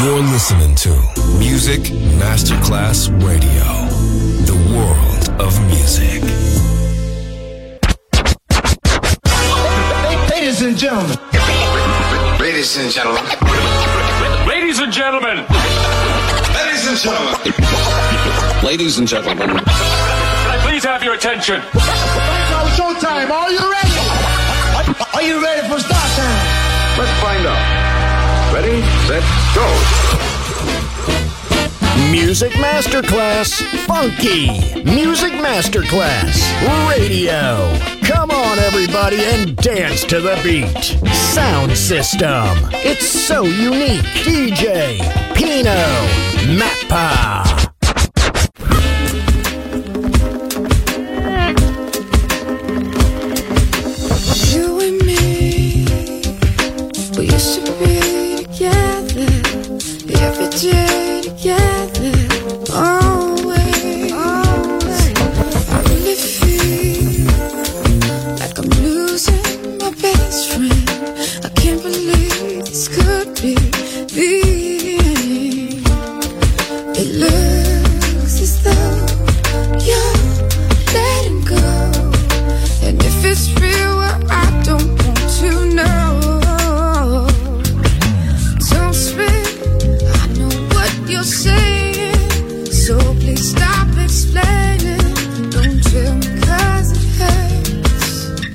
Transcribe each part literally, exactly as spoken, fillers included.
You're listening to Music Masterclass Radio, the world of music. Ladies and gentlemen. Ladies and gentlemen. Ladies and gentlemen. Ladies and gentlemen. Ladies and gentlemen. Can I please have your attention? It's showtime. Are you ready? Are you ready for start time? Let's find out. Ready, set, go. Music Masterclass Funky. Music Masterclass Radio. Come on, everybody, and dance to the beat. Sound system. It's so unique. D J Pino Mappa. You and me, we used to be together every day together, always. I really feel like I'm losing my best friend. I can't believe this could be the end. It looks as though you're letting go, and if it's real, well, I don't want to know. Don't speak, I know what you're saying, so please stop explaining. Don't tell me 'cause it hurts.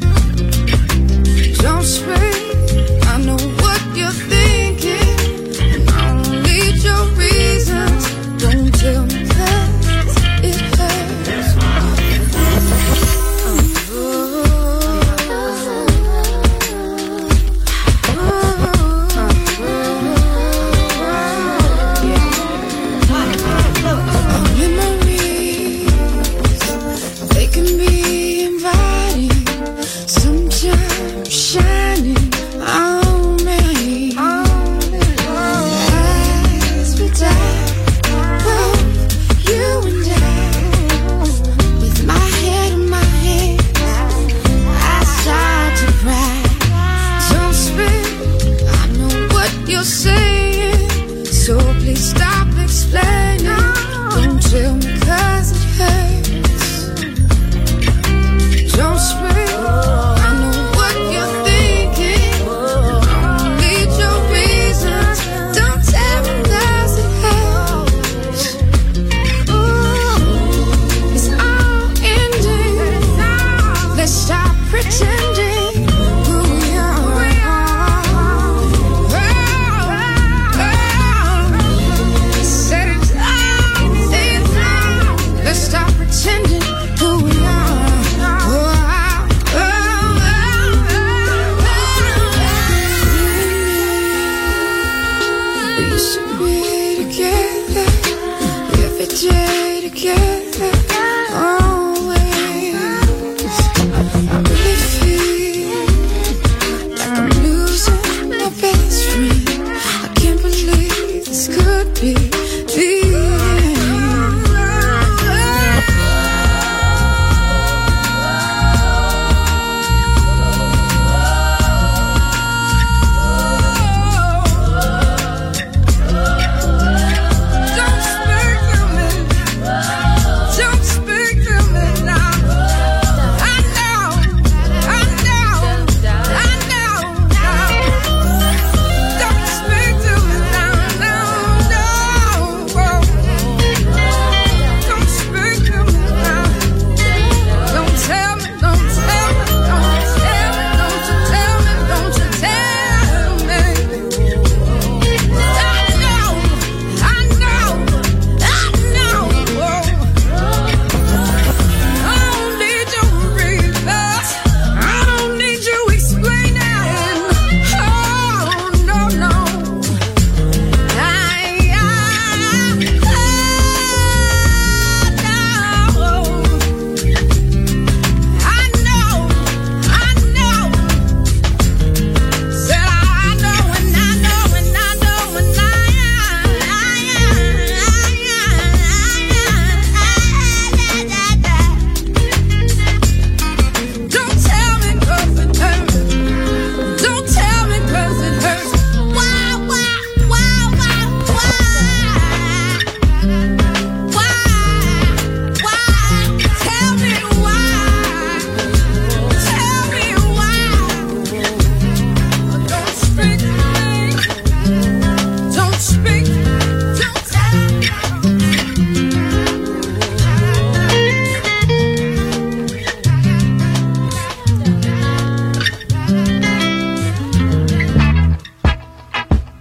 Don't speak, I know what you're thinking, and I don't need your reasons. Don't tell me 'cause it hurts. They can be inviting, sometimes shining on me. As we die, both you and I, with my head in my hands, I start to cry. Don't speak, I know what you're saying, so please stop explaining. Don't tell me 'cause it hurts. Don't speak, I know what you're thinking, I don't need your reasons. Don't tell me 'cause it hurts. Ooh, it's all ending. Let's stop pretending who we are. Oh, oh. Set it down, say it down. Let's stop pretending who we are. Oh, oh, oh. We used to be together every day together, always. I really feel like I'm losing my best friend. I can't believe this could be the Don't speak to me. Don't speak to me now. I know, I know, I know now. Don't speak to me now, no, no.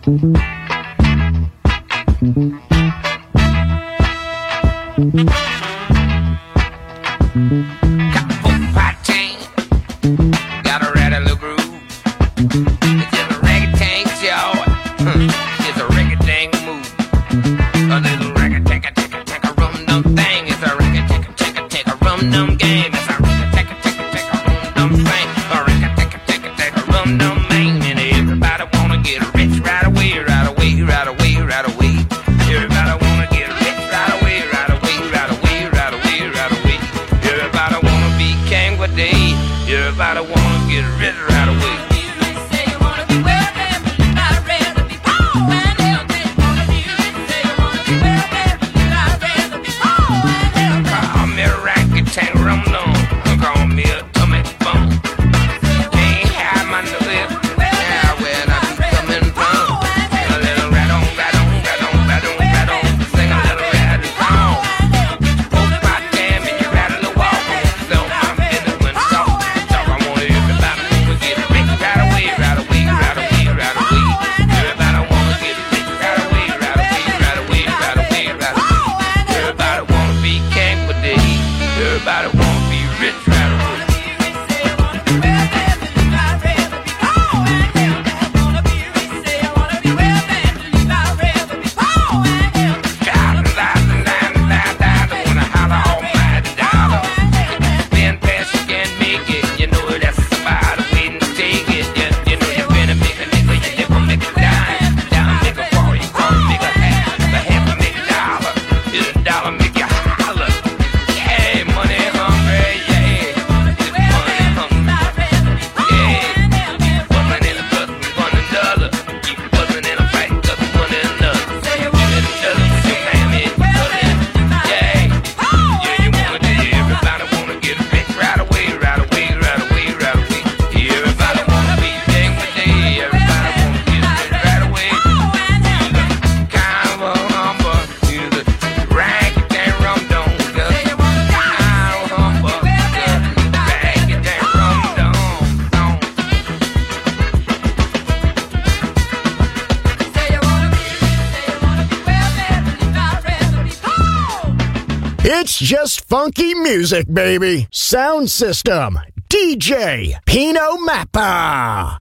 It's just funky music, baby. Sound system, D J Pino Mappa.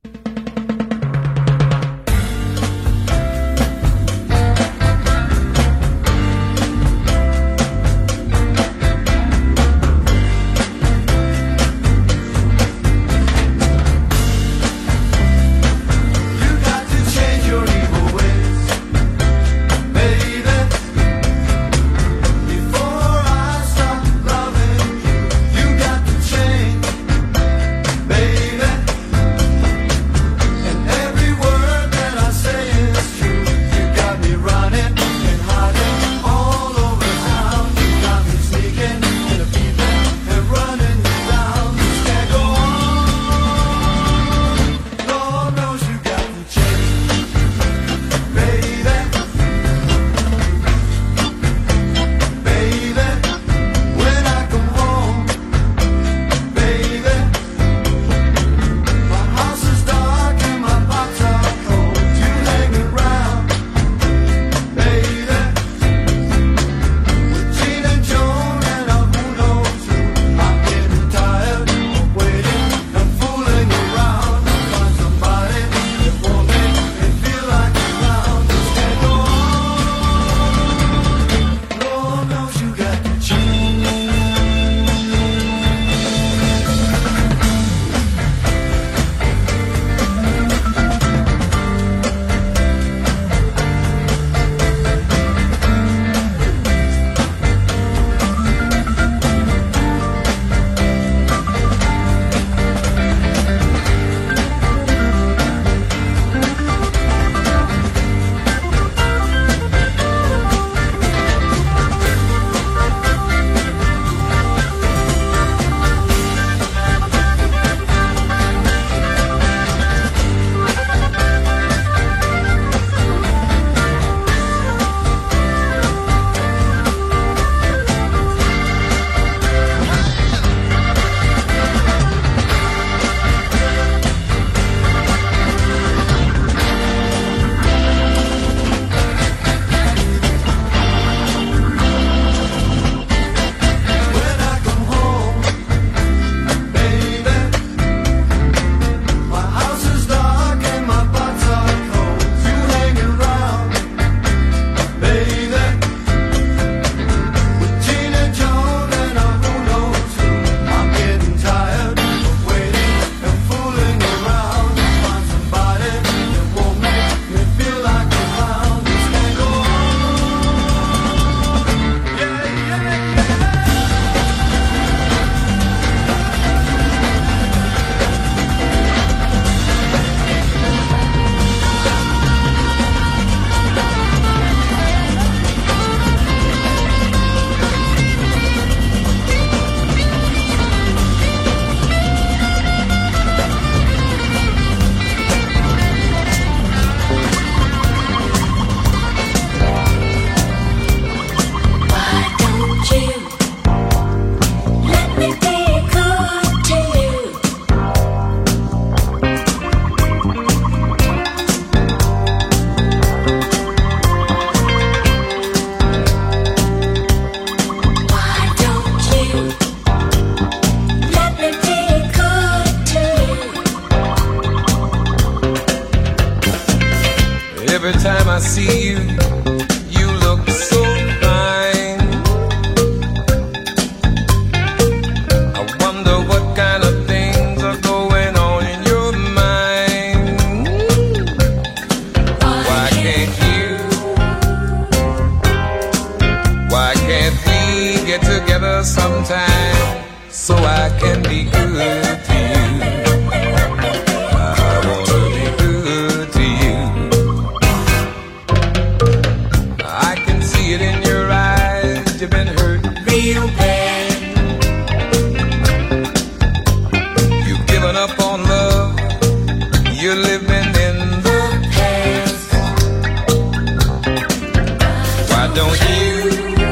Baby, Every time I see you, you look so fine. I wonder what kind of things are going on in your mind. Why can't you? Why can't we get together sometime so I can be good to you? You've been hurt real bad. You've given up on love. You're living in the past. Why don't you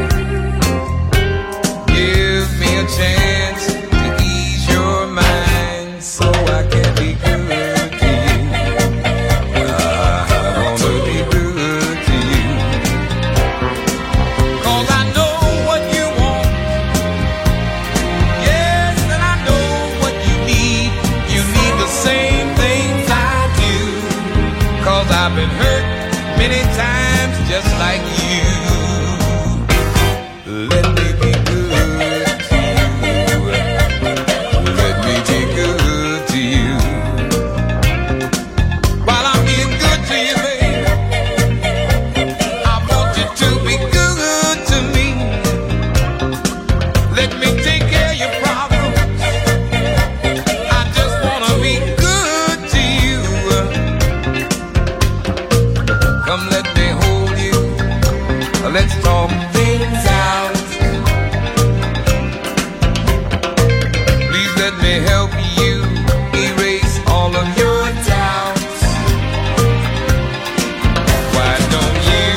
give me a chance to ease your mind so I can be good to you? I wanna be good to you. 'Cause I know I've been hurt many times just like you. Let me be good to you. Let me be good to you. While I'm being good to you, baby, I want you to be good to me. Let me take care of your problems. I just wanna be good to you. Come let me hold you, let's talk things out. Please let me help you erase all of your doubts. Why don't you,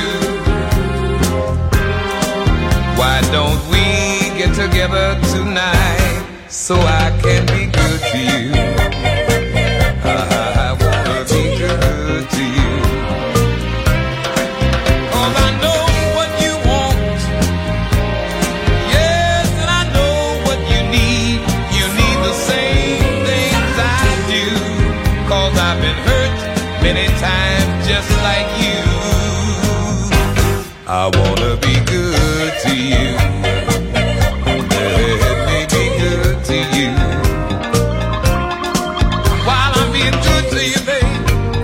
why don't we get together tonight so I can be good to you? I wanna be good to you. I've been hurt many times just like you. I wanna be good to you. Let me be good to you. While I'm being good to you, babe,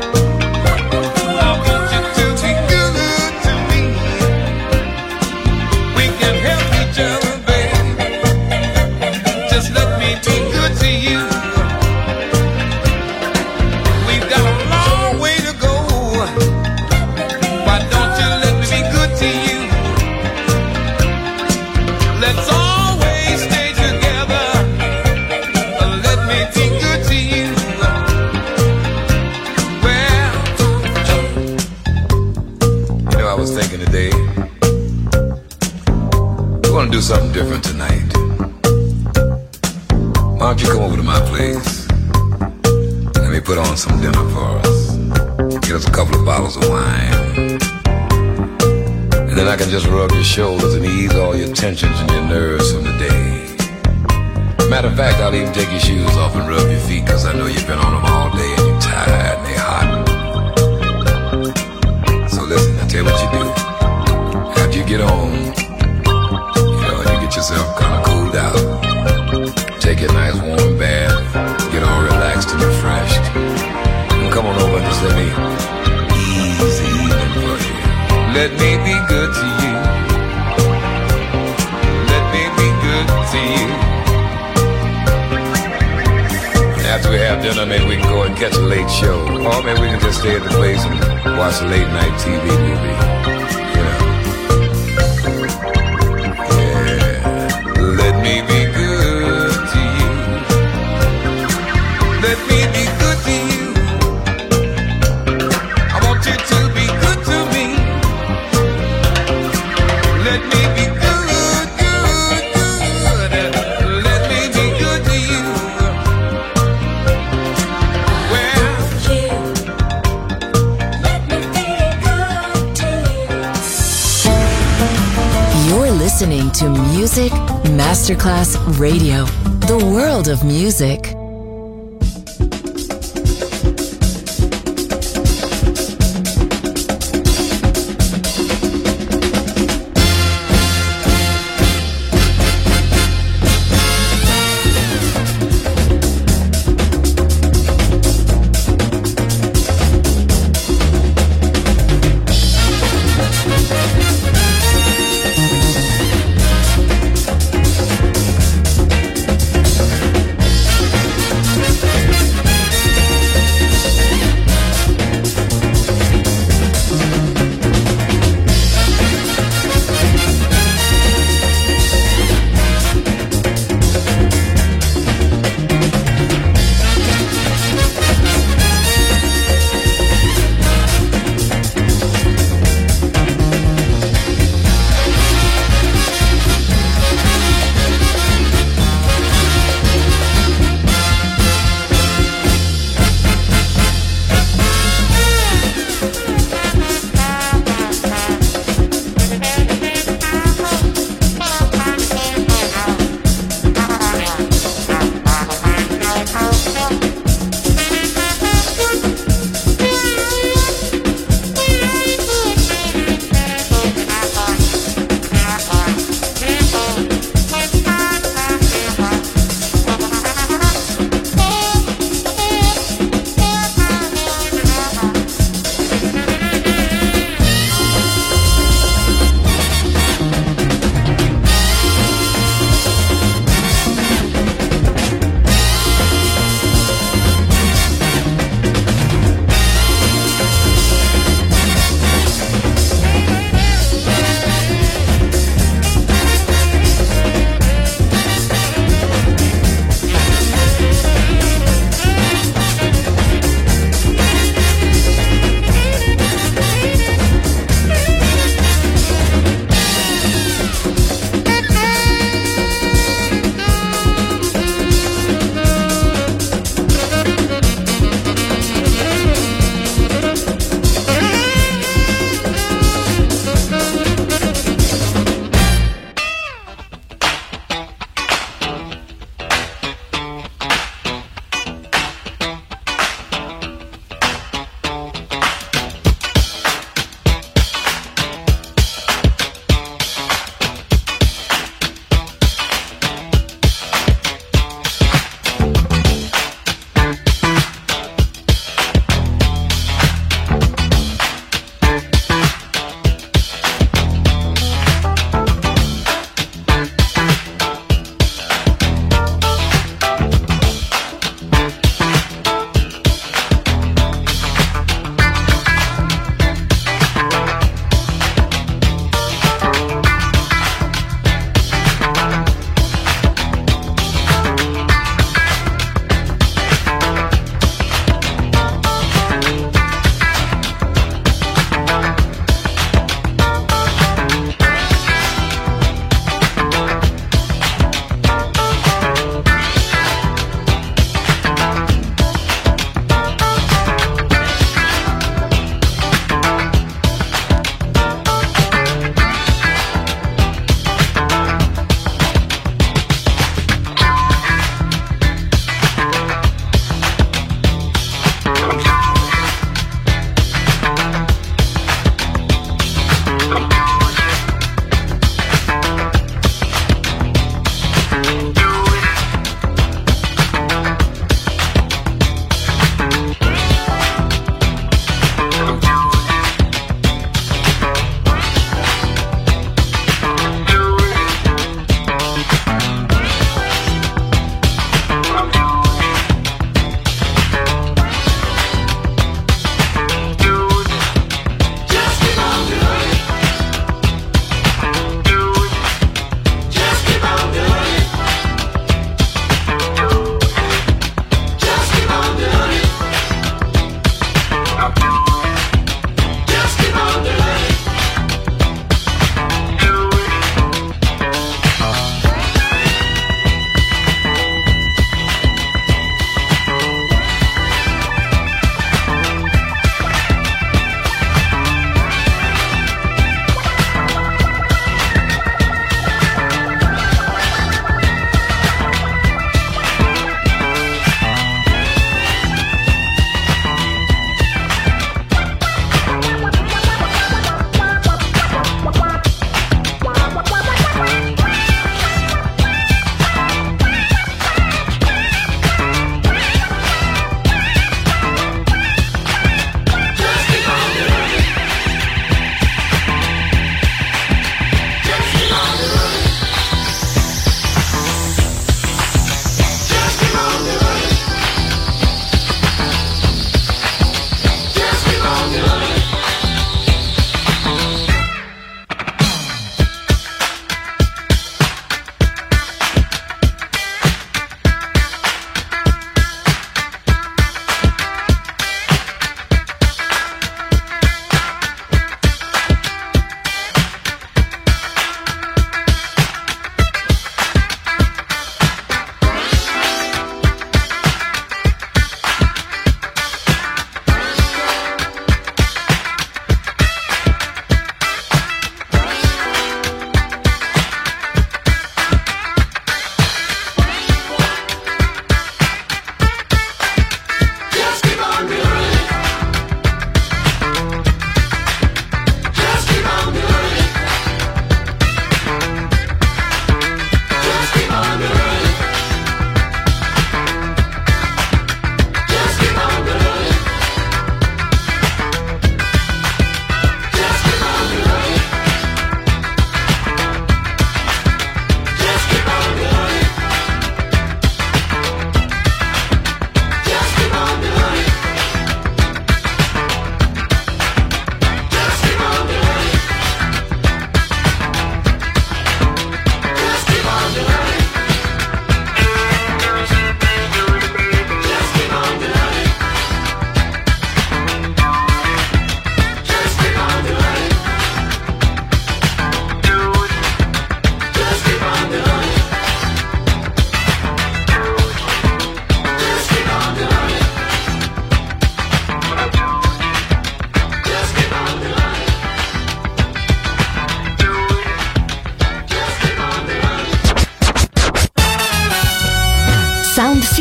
I want you to be good to me. We can help each other, babe. Just let me be good to you. Let's always stay together. Let me be good to you. Well, you know, I was thinking today, we want to do something different tonight. Why don't you come over to my place? Let me put on some dinner for us. Get us a couple of bottles of wine. And then I can just rub your shoulders and ease all your tensions and your nerves from the day. Matter of fact, I'll even take your shoes off and rub your feet, because I know you've been on them all day and you're tired and they're hot. So listen, I'll tell you what you do. After you get home, you know, and you get yourself kind of cooled out, take a nice warm bath, get all relaxed and refreshed, and come on over and just let me ease the evening for you. Let me be good to you. Let me be good to you. After we have dinner, maybe we can go and catch a late show. Or maybe we can just stay at the place and watch a late night T V movie. You know. Yeah. Let me be good to you. Let me be good to you. I want you to be good to me. Let me be good, good, good. Let me be good to you. Well, let me be good to you. You're listening to Music Masterclass Radio, the world of music.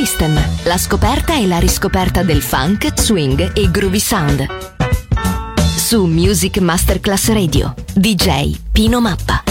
System, la scoperta e la riscoperta del funk, swing e groovy sound. Su Music Masterclass Radio, D J Pino Mappa.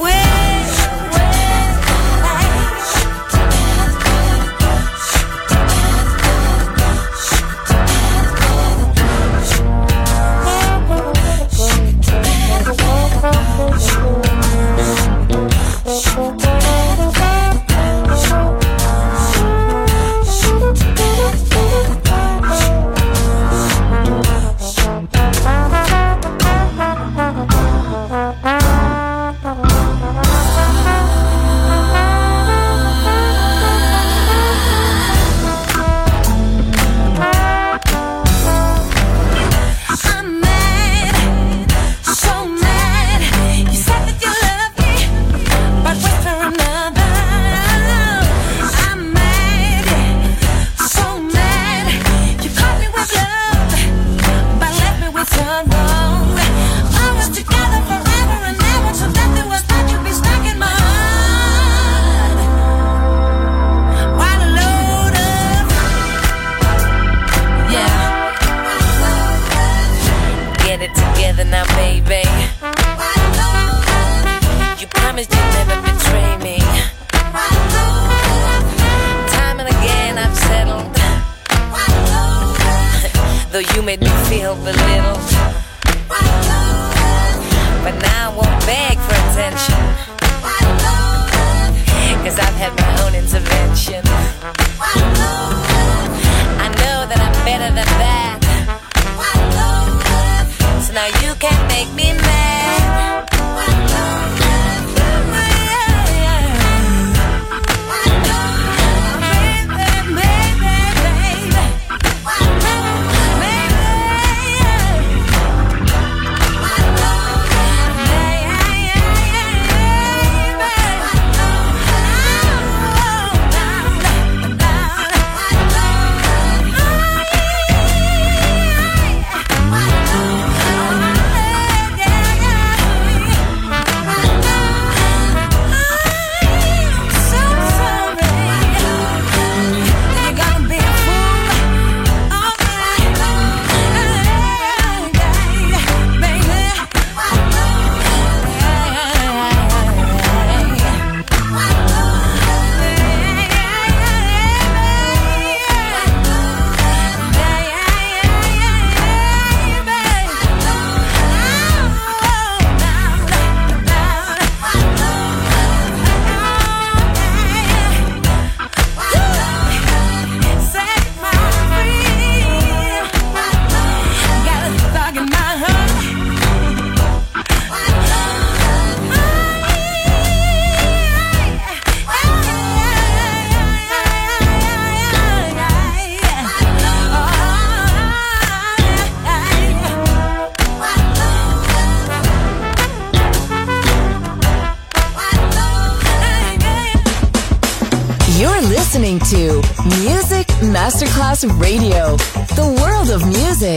listening to Music Masterclass Radio, the world of music.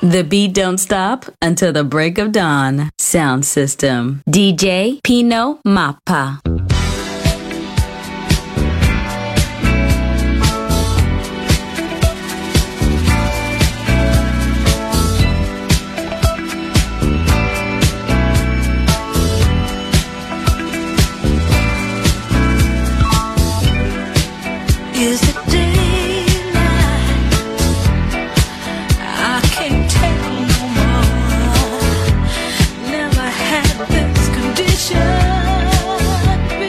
The beat don't stop until the break of dawn. Sound system. D J Pino Mappa. Is it daylight? I can't tell no more. Never had this condition.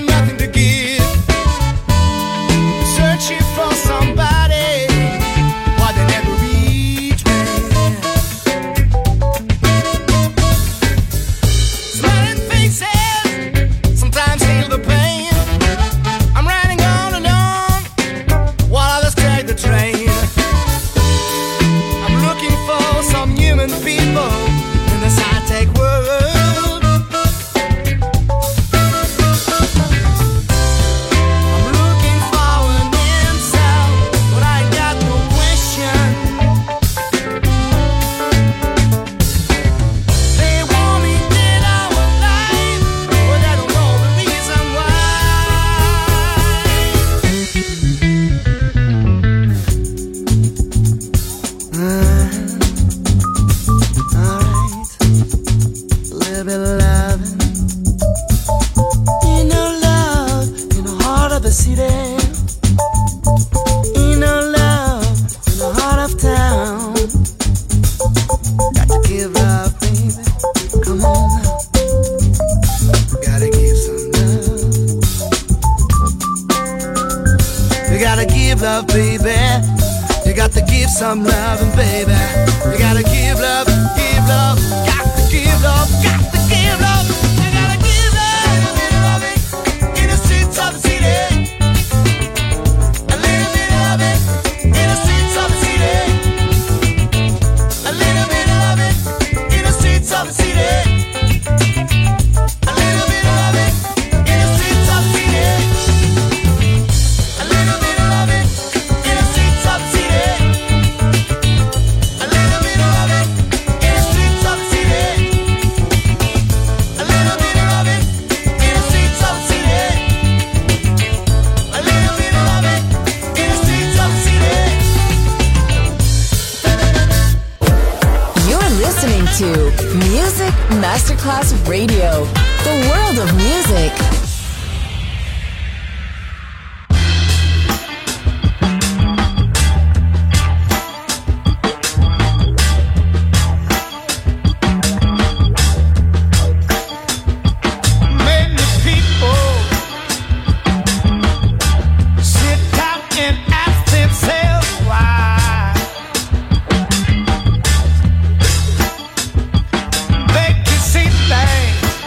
got nothing to give. Searching for somebody, why they never reach me. Smiling faces sometimes heal the pain. I'm riding on and on while others take the train. I'm looking for some human people in this high-tech world. Love, baby. You got to give some love, baby. You gotta give love, give love. Got to give love, got to give love. You gotta give love, a little bit of it in the streets of the city. A little bit of it in the streets of the city. A little bit of it in the streets of the city. A little bit of it in the streets of the city. To Music Masterclass Radio, the world of music. They can see things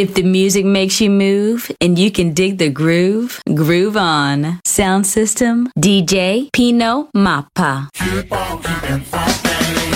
If the music makes you move and you can dig the groove, groove on. Sound system, D J Pino Mappa. Keep on keeping funky.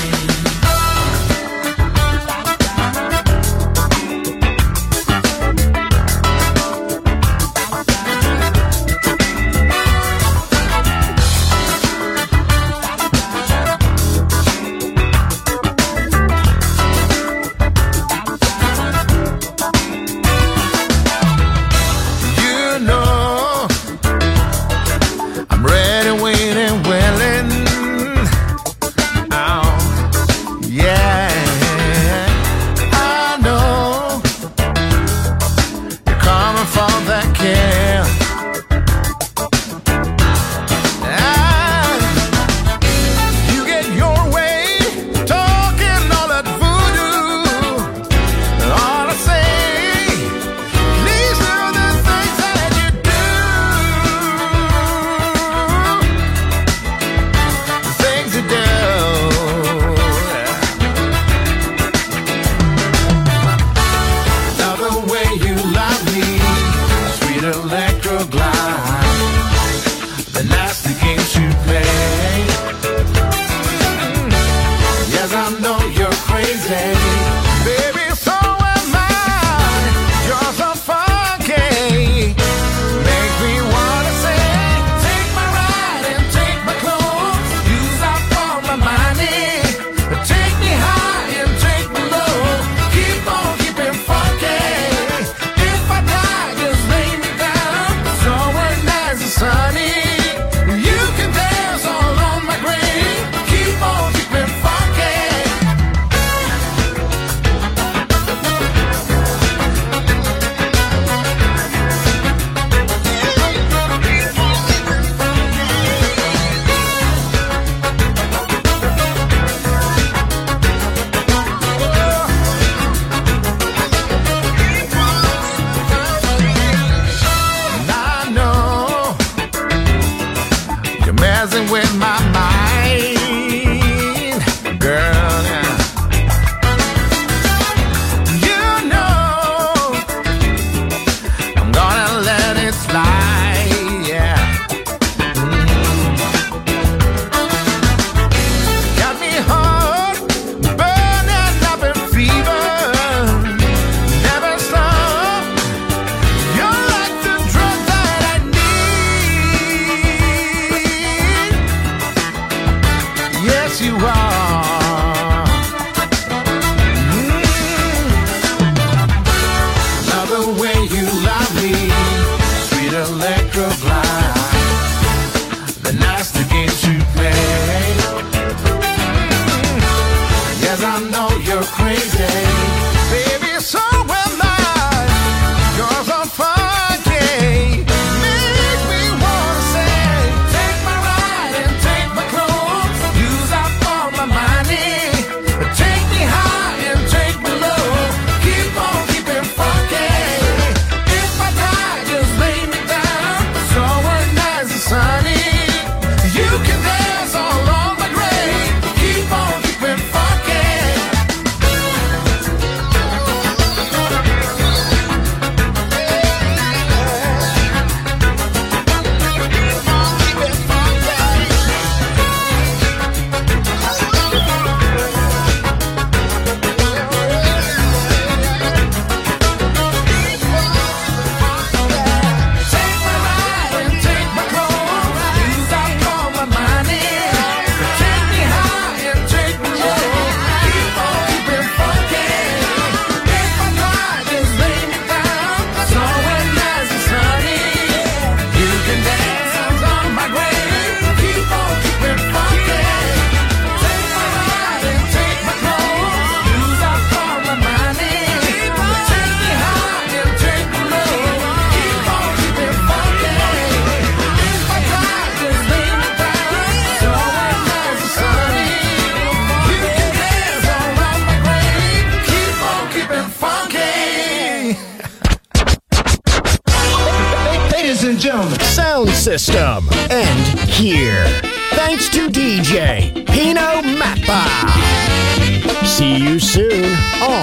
Sound system. End here. Thanks to D J Pino Mappa. See you soon on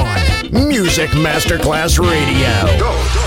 Music Masterclass Radio. Go.